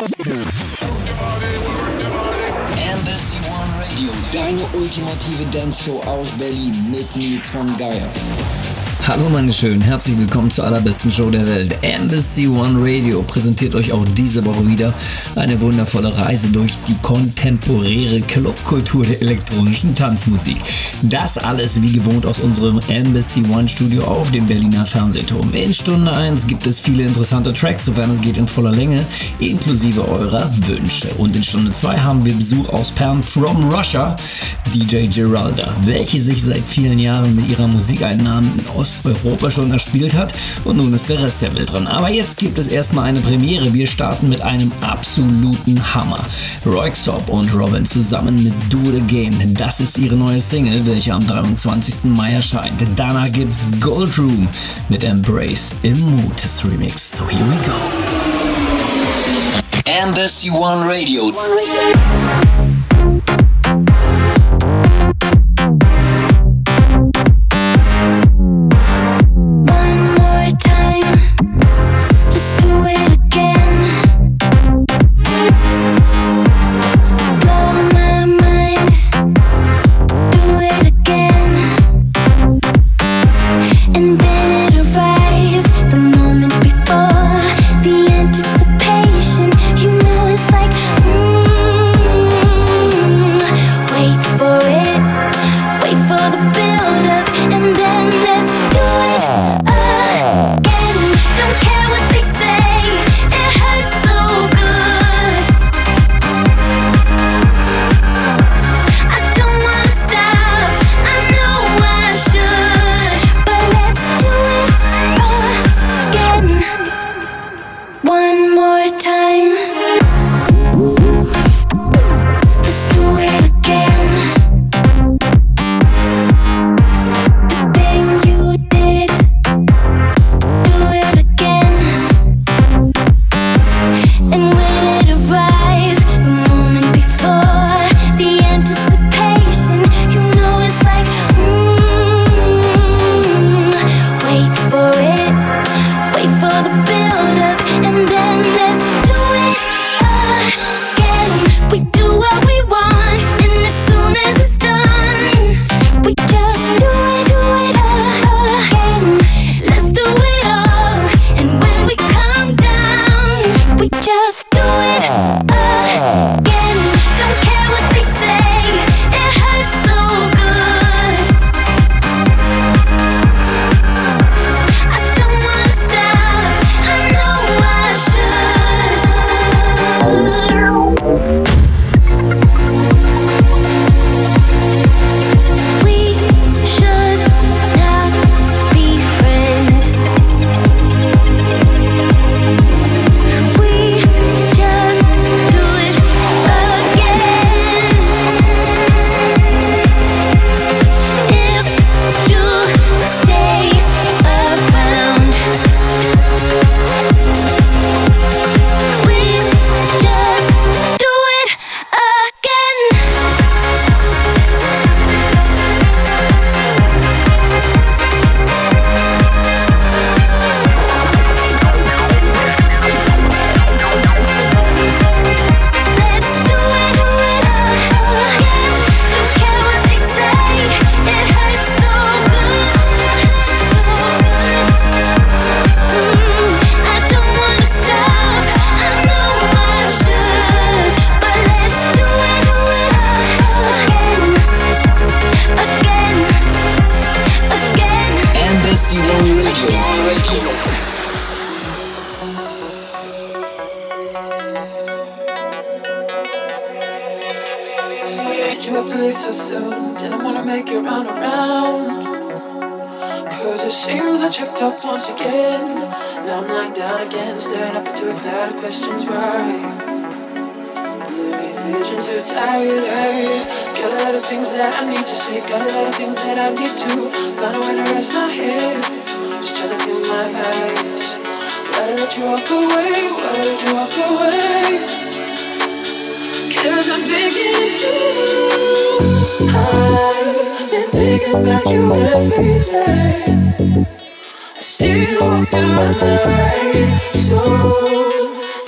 Embassy One Radio, deine ultimative Dance-Show aus Berlin mit Nils von Geier. Hallo meine Schönen, herzlich willkommen zur allerbesten Show der Welt. Embassy One Radio präsentiert euch auch diese Woche wieder eine wundervolle Reise durch die kontemporäre Clubkultur der elektronischen Tanzmusik. Das alles wie gewohnt aus unserem Embassy One Studio auf dem Berliner Fernsehturm. In Stunde 1 gibt es viele interessante Tracks, sofern es geht in voller Länge, inklusive eurer Wünsche. Und in Stunde 2 haben wir Besuch aus Perm from Russia, DJ Geralda, welche sich seit vielen Jahren mit ihrer Musik einen Namen in Osteuropa schon erspielt hat und nun ist der Rest der Welt dran. Aber jetzt gibt es erstmal eine Premiere. Wir starten mit einem absoluten Hammer. Röyksopp und Robin zusammen mit Do It Again. Das ist ihre neue Single, welche am 23. Mai erscheint. Danach gibt's Gold Room mit Embrace im Mutis Remix. So here we go. Embassy One Radio. I've been thinking about you every day. I see you walking around my way. So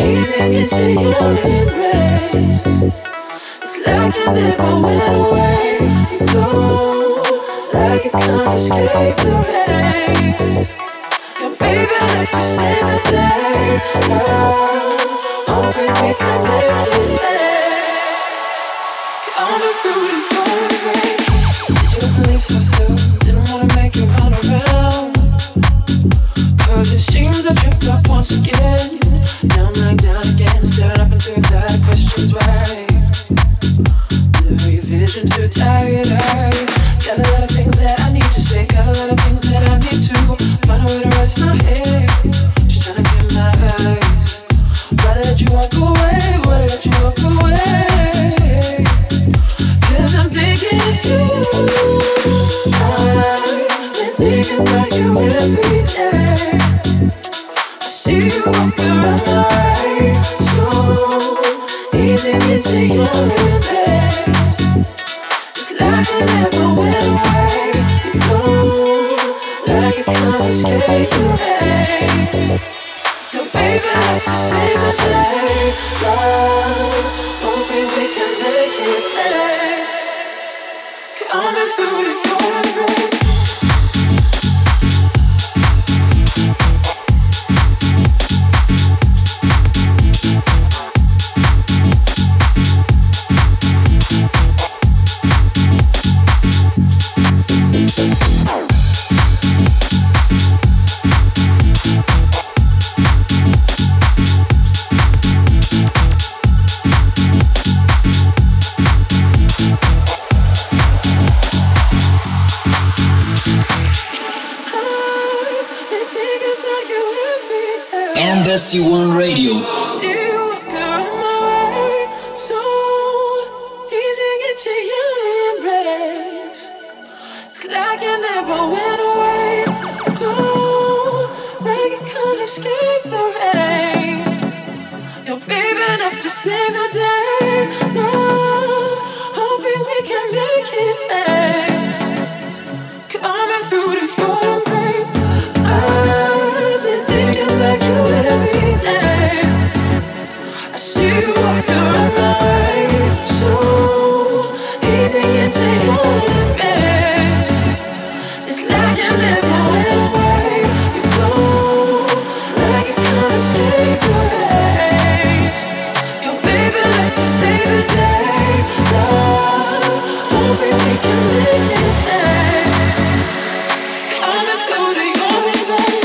easing into your embrace. It's like you never went away. You glow like you can't escape the rays. Your baby left to save the day. Love, hoping we can make it last. Coming through the golden rain. Did you leave so soon? Didn't wanna make you run around. Cause it seems I tripped up once again. Now I'm lying down again, staring up into a cloud of questions. Why? Blurry vision, too tired eyes. Got a lot of things that I need to say. Got a lot of things that I need to find a way to rest my head. Just trying to get my eyes. Why did you walk away? Why did you walk away? Cause I'm thinking it's you. I've been thinking about you every day. I see you walking around my way. So easy into your embrace. It's like you never went away. You know, like you can't escape the rays. Your baby left to save the day. Love, hoping we can make it better. Coming through the golden rays. Embassy One Radio. See you walk around my way. So easy into your embrace. It's like you never went away. Glow like you can't escape the rays. Your baby enough to save the day. Love, hoping we can make it play. Coming through the golden break. I've been thinking about you every day. I see you walking around my way. So easy into your embrace. It's like you never went away. You glow like you can't escape the rays. Your baby like to save the day. Love, hoping we can make it there. Coming through the golden rays.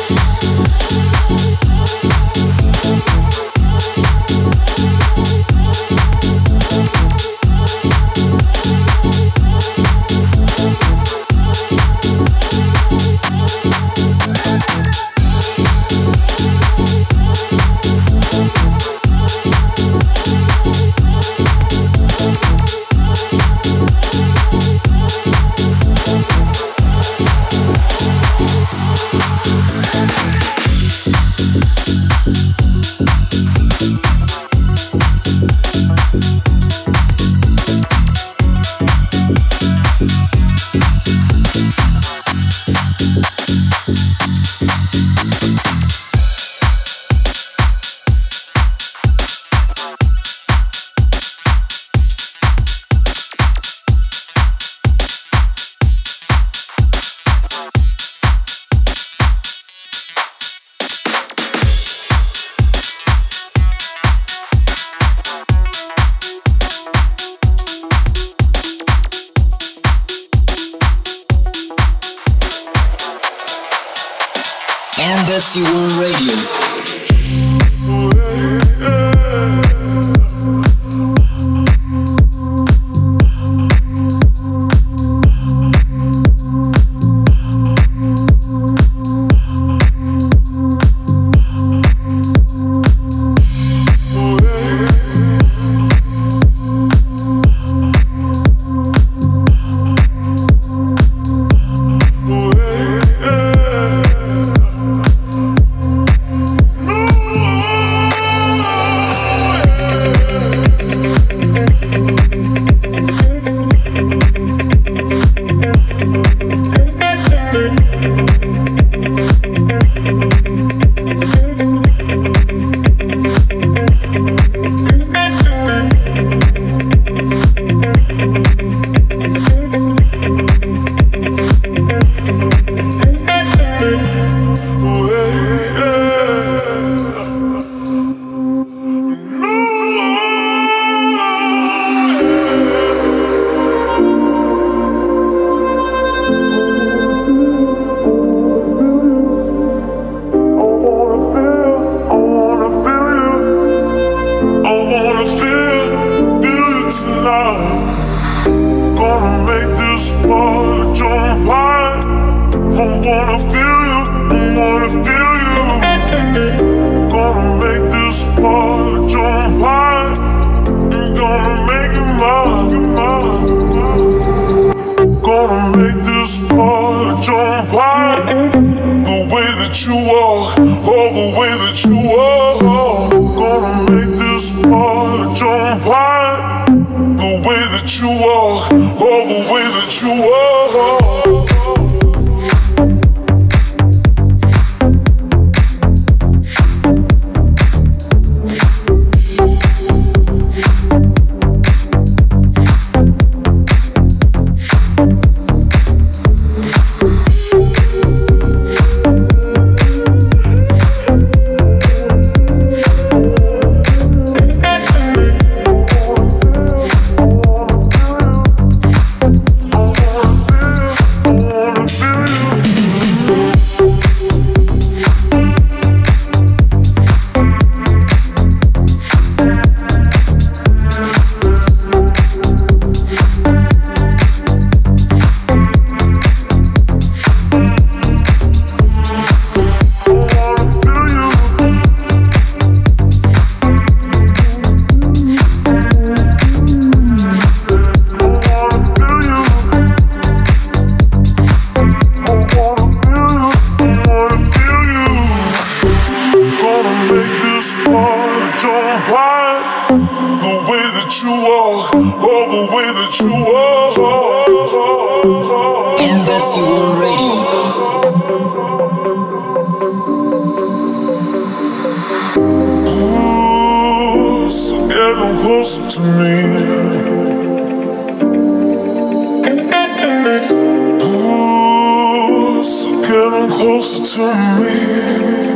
Embassy One Radio. wanna feel you tonight. Gonna make this part jump high. I wanna feel you, I wanna feel you. Gonna make this part jump high. I'm gonna make it mine. Gonna make this part jump high. The way that you walk, all the way that you walk. Gonna make this part jump high. The way that you walk, all the way that you walk. Embassy One Radio. Ooh, so getting closer to me. Ooh, so getting closer to me.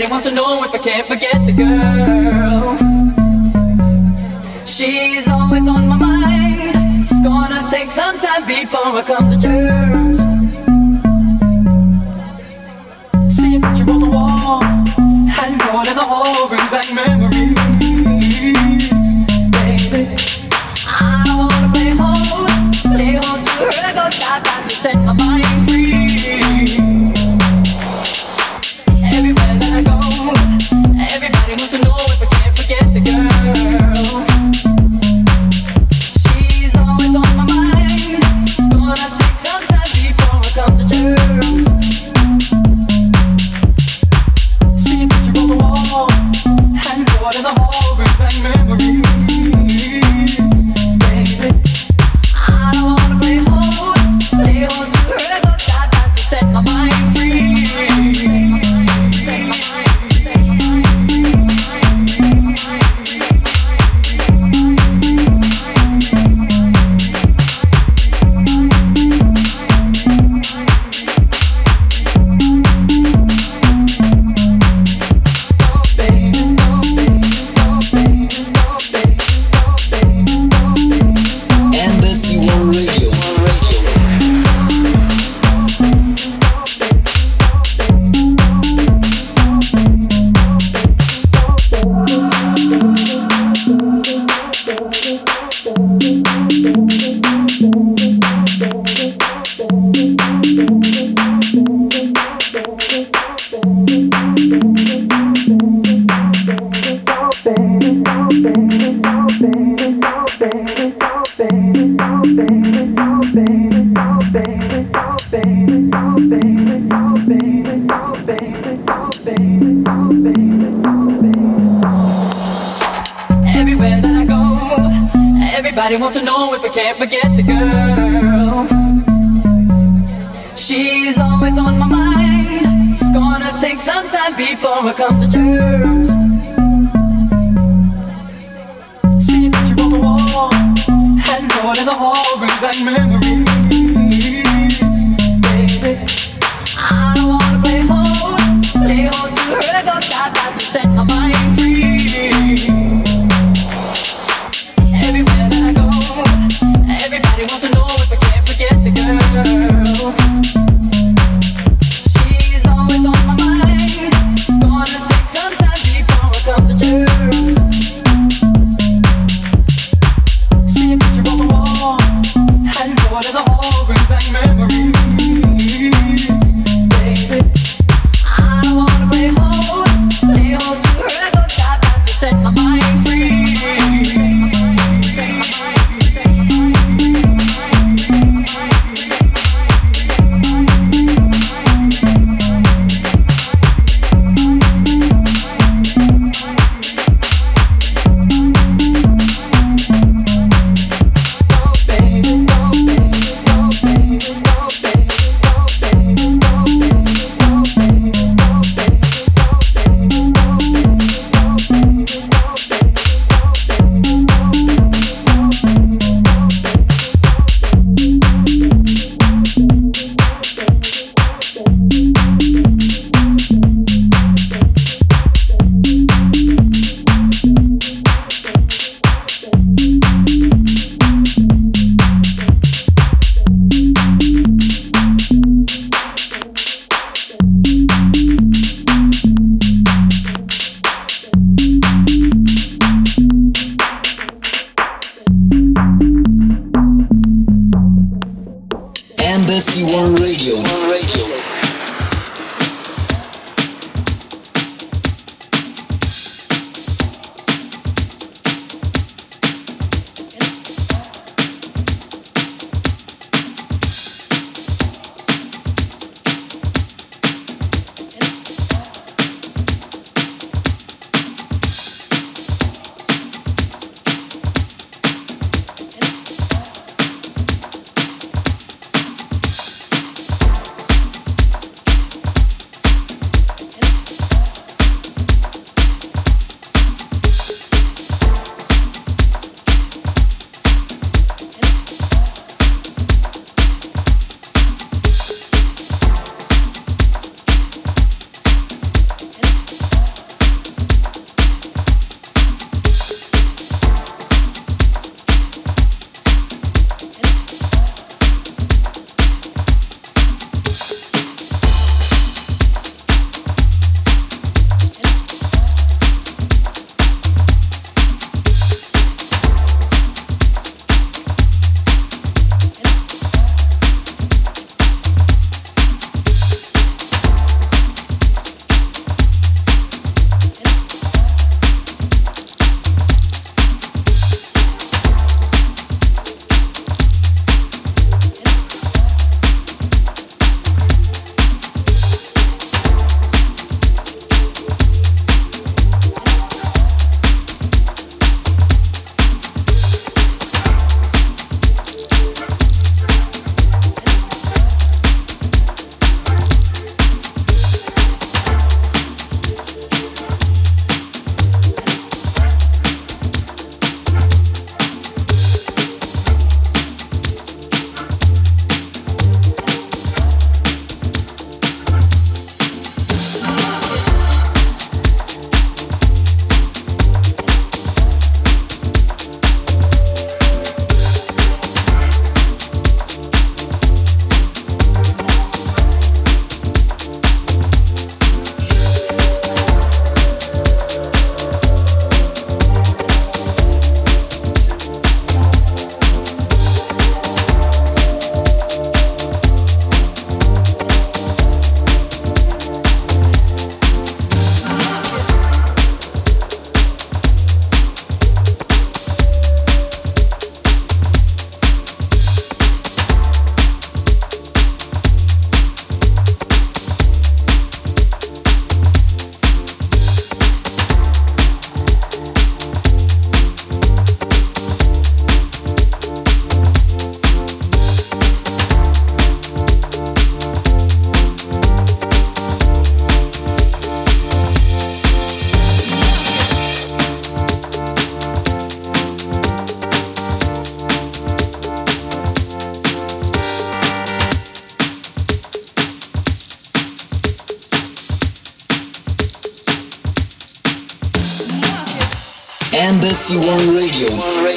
wants to know if I can't forget the girl. She's always on my mind. It's gonna take some time before I come to terms. See a picture on the wall, handboard in the hall brings back memories. Baby, I wanna play host to her, go side back to set my mind free. Everywhere that I go, everybody wants to know if I can't forget the girl. She's always on my mind. It's gonna take some time before I come to terms. See a picture on the wall, handboard in the hall brings back memories. Baby, I wanna play host to her, go side back to set my mind free. Embassy One Radio. Everywhere that I go, everybody wants to know if I can't forget the girl. She's always on my mind. It's gonna take some time before I come to terms. See a picture on the wall, handboard in the hall brings back memories. Baby, I wanna play host to her, go side back to set my mind free. Everywhere that I go, everybody wants to know if I can't forget the girl. She's always on my mind. It's gonna take some time before I come to terms. See a picture on the wall, handboard in the hall brings back memories. Baby, I wanna play host to her, go side back to set my mind. Embassy One Radio.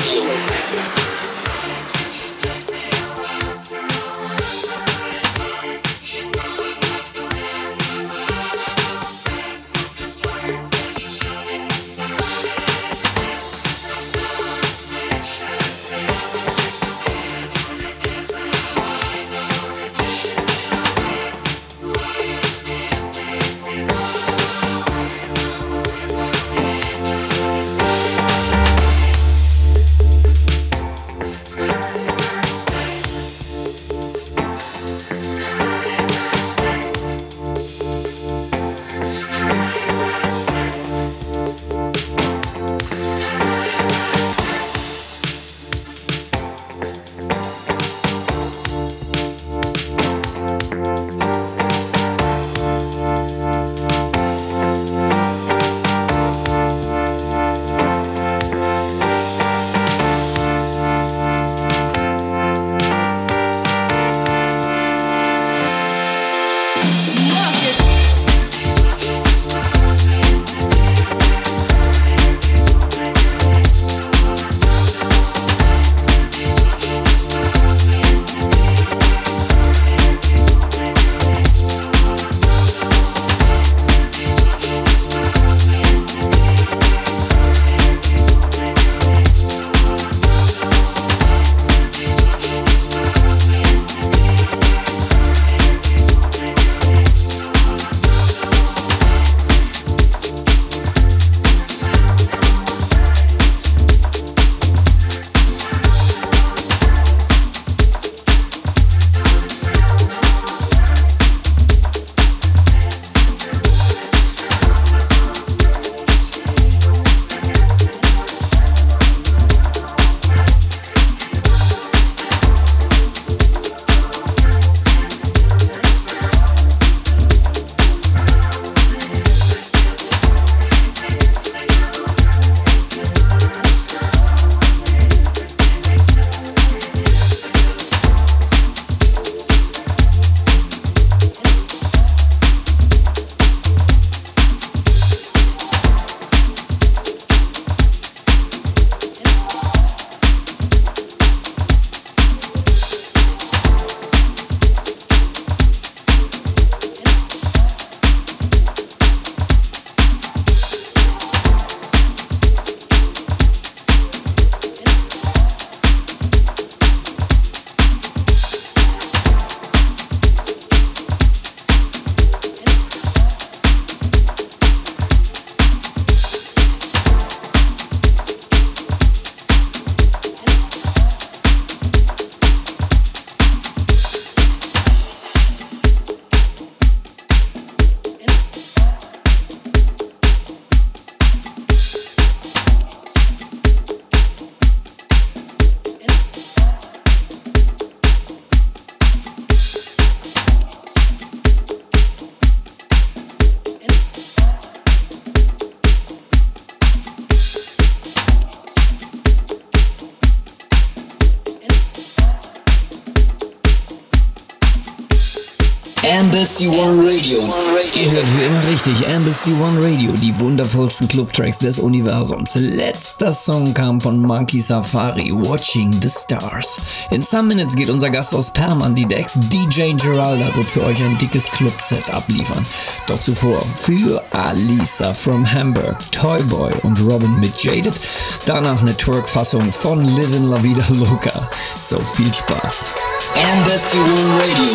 Embassy One Radio. Ihr hört wie immer richtig, Embassy One Radio, die wundervollsten Clubtracks des Universums. Letzter Song kam von Monkey Safari, Watching the Stars. In some minutes geht unser Gast aus Perm an die Decks. DJ Geralda wird für euch ein dickes Club-Set abliefern. Doch zuvor für Alisa from Hamburg, Toyboy und Robin mit Jaded. Danach eine Twerk-Fassung von Livin' La Vida Loca. So viel Spaß. Embassy One Radio.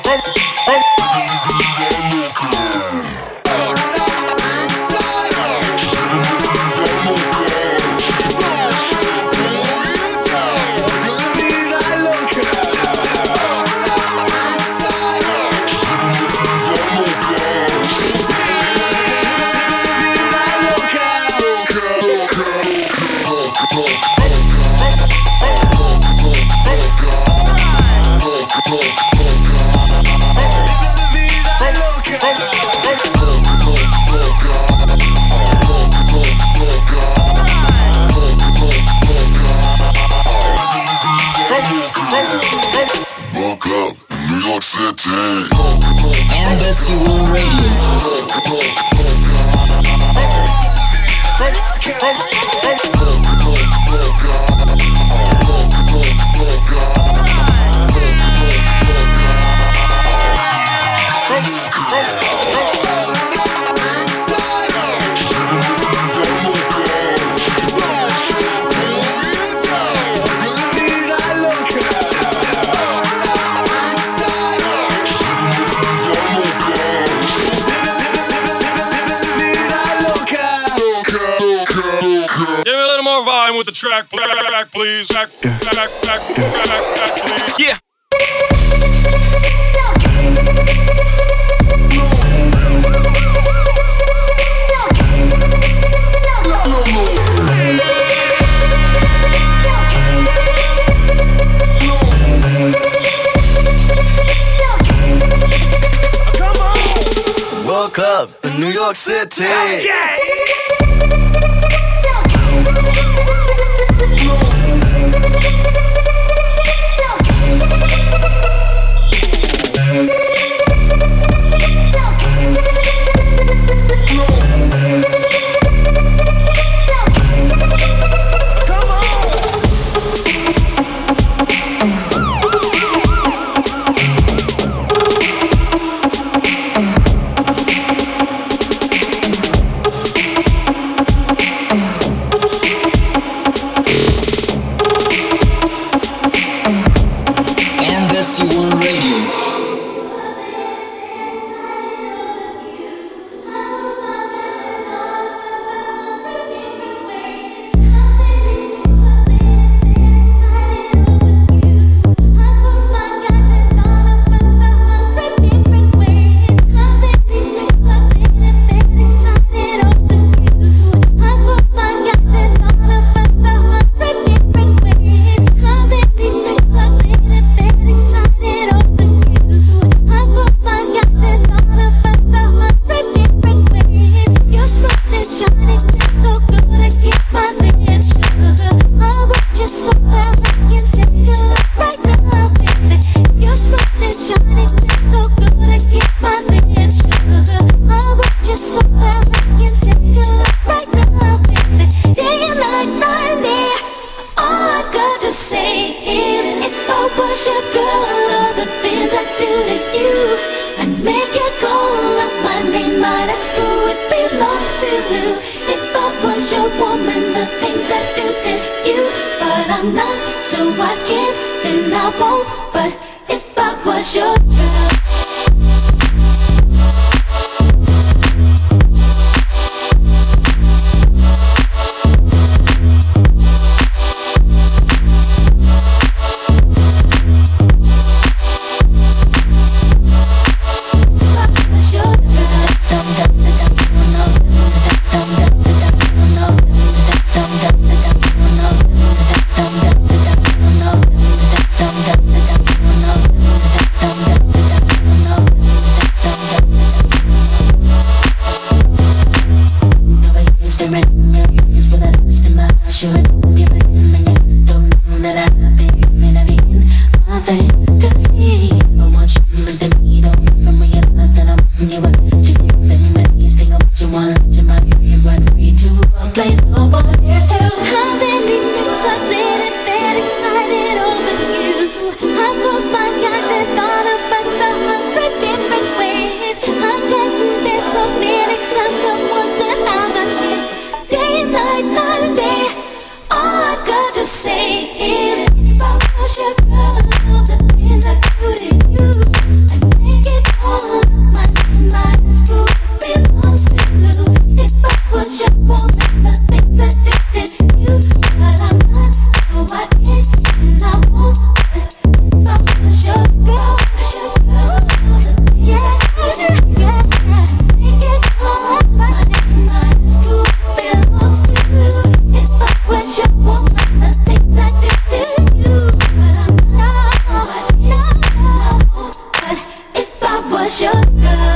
Embassy One Radio. With the track, please. Track, please. Yeah. Come on. Woke up in New York City. Okay. Say is it's about what you girl, all the things I do to you. was your girl.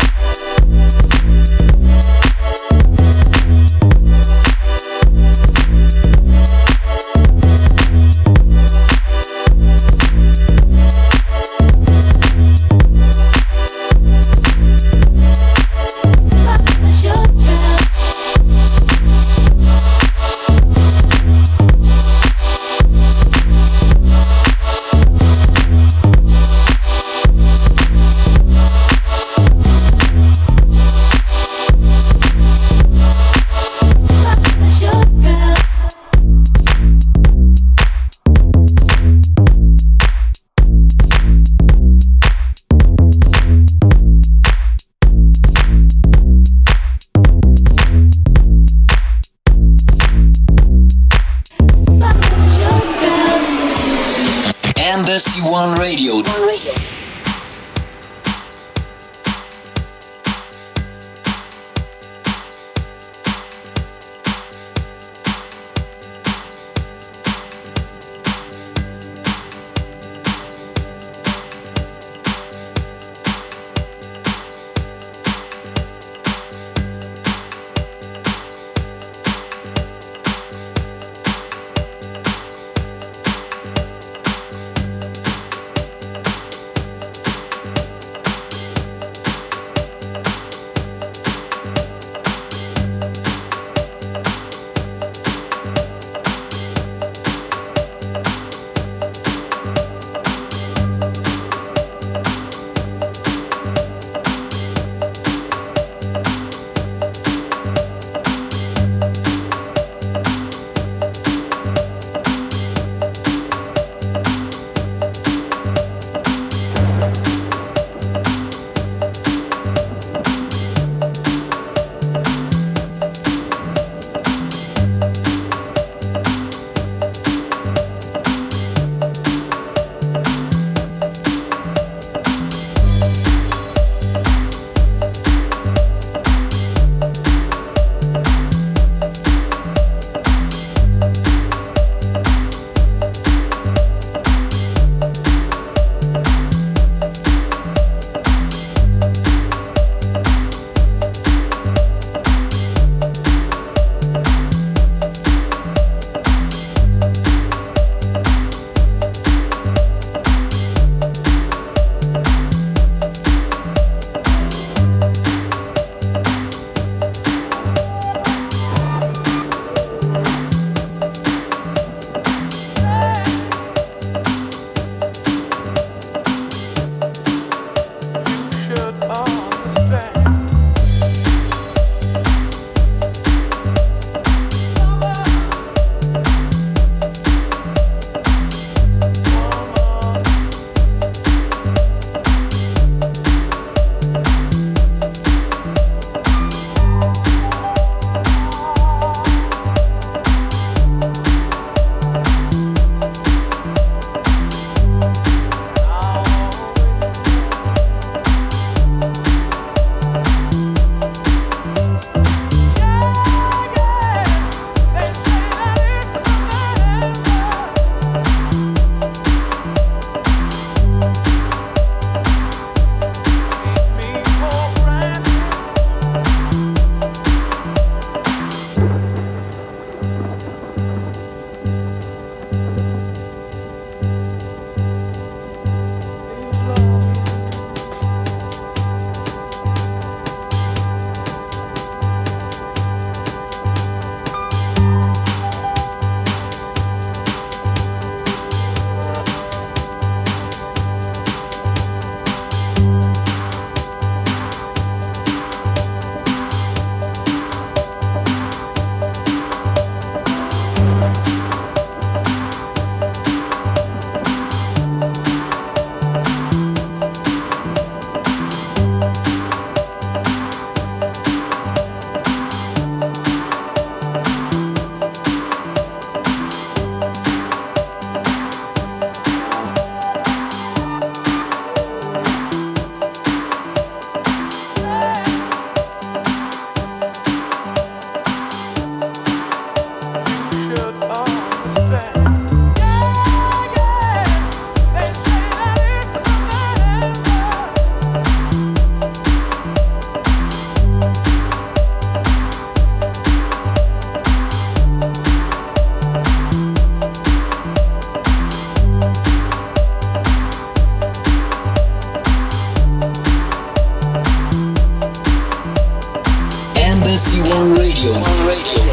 Embassy One Radio.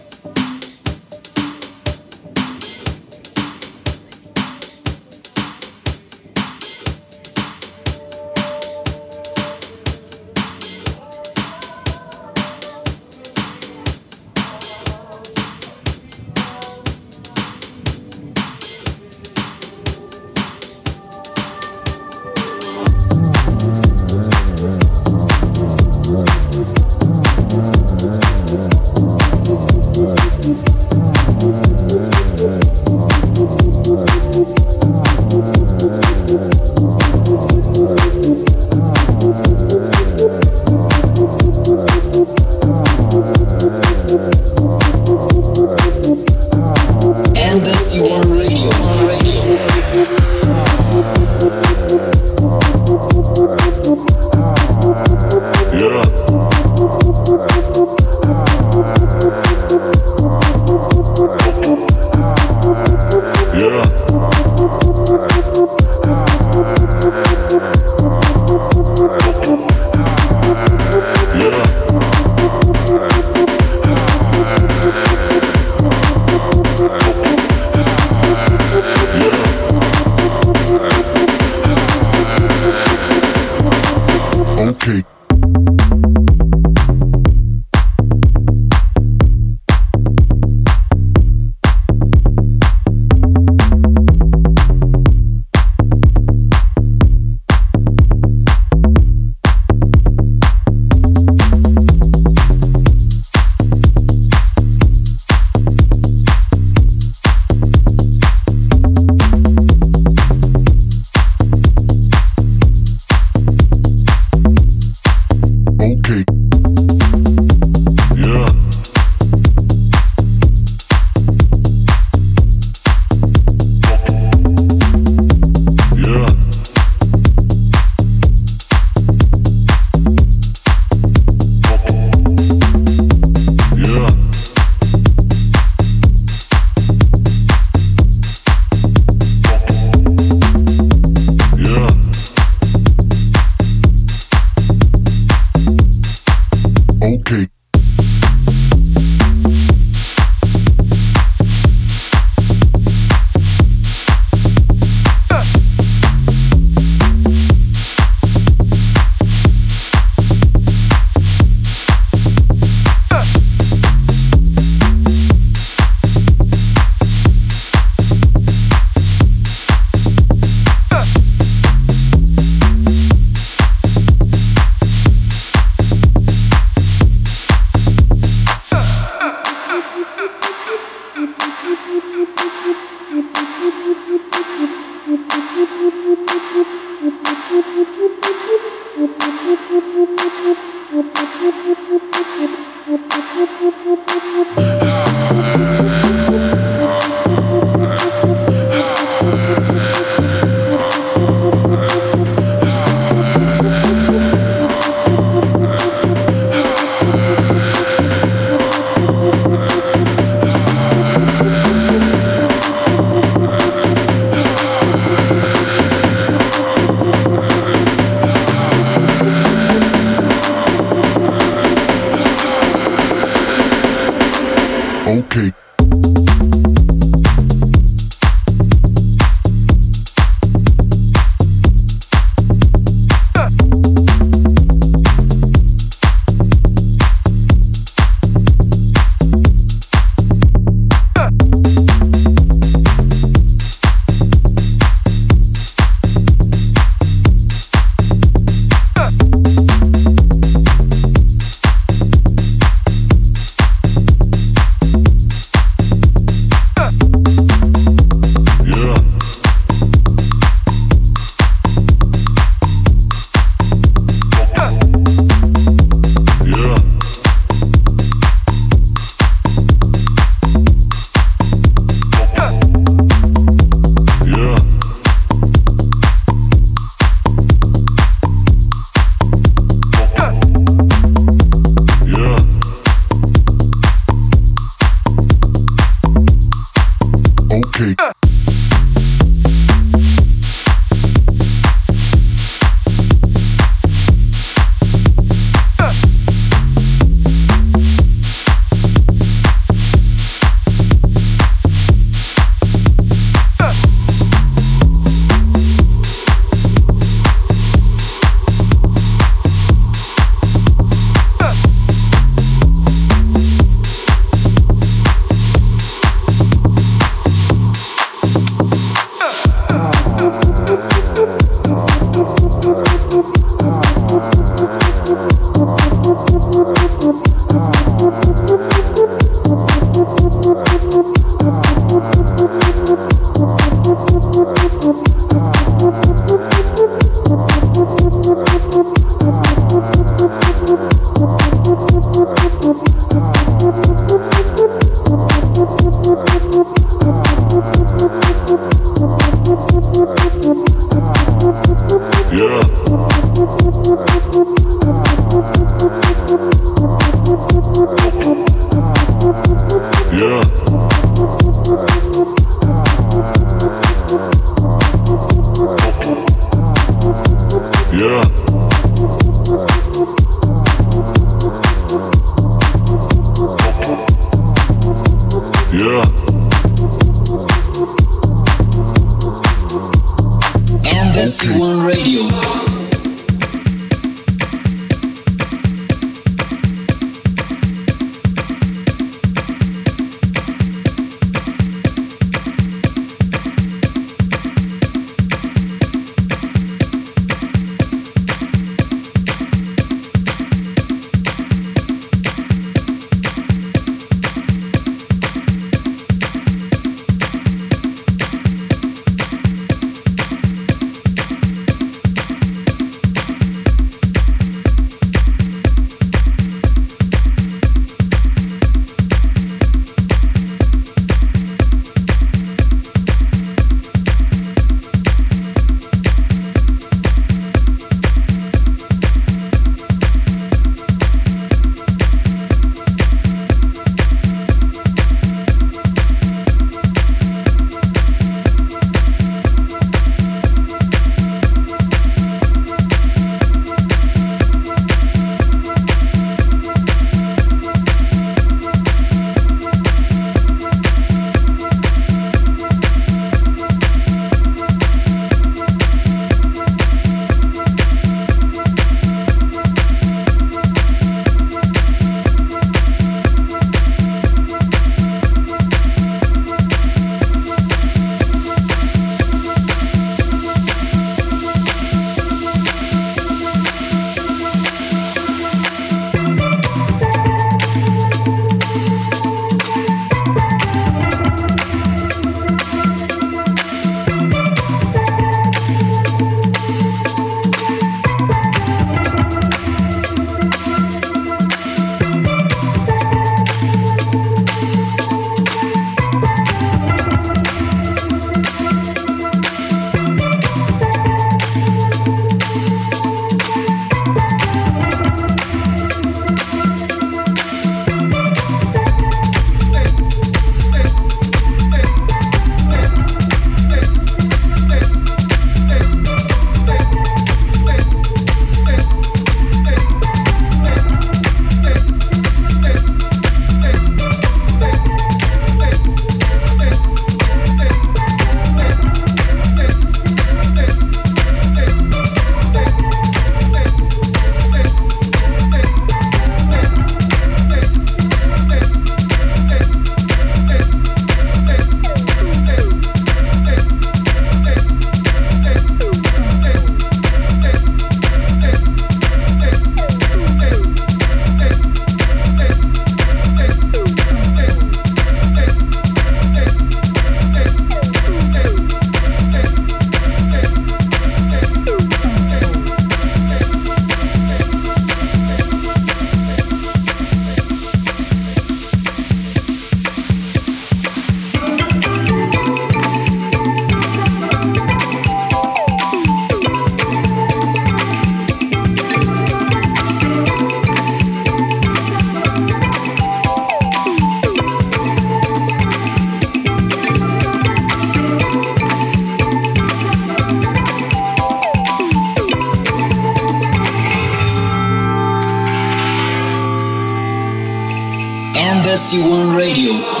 Embassy One Radio.